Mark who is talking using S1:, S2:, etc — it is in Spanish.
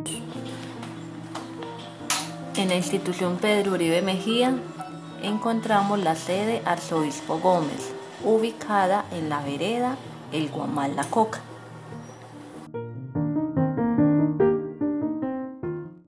S1: En la institución Pedro Uribe Mejía encontramos la sede Arzobispo Gómez, ubicada en la vereda El Guamal La Coca.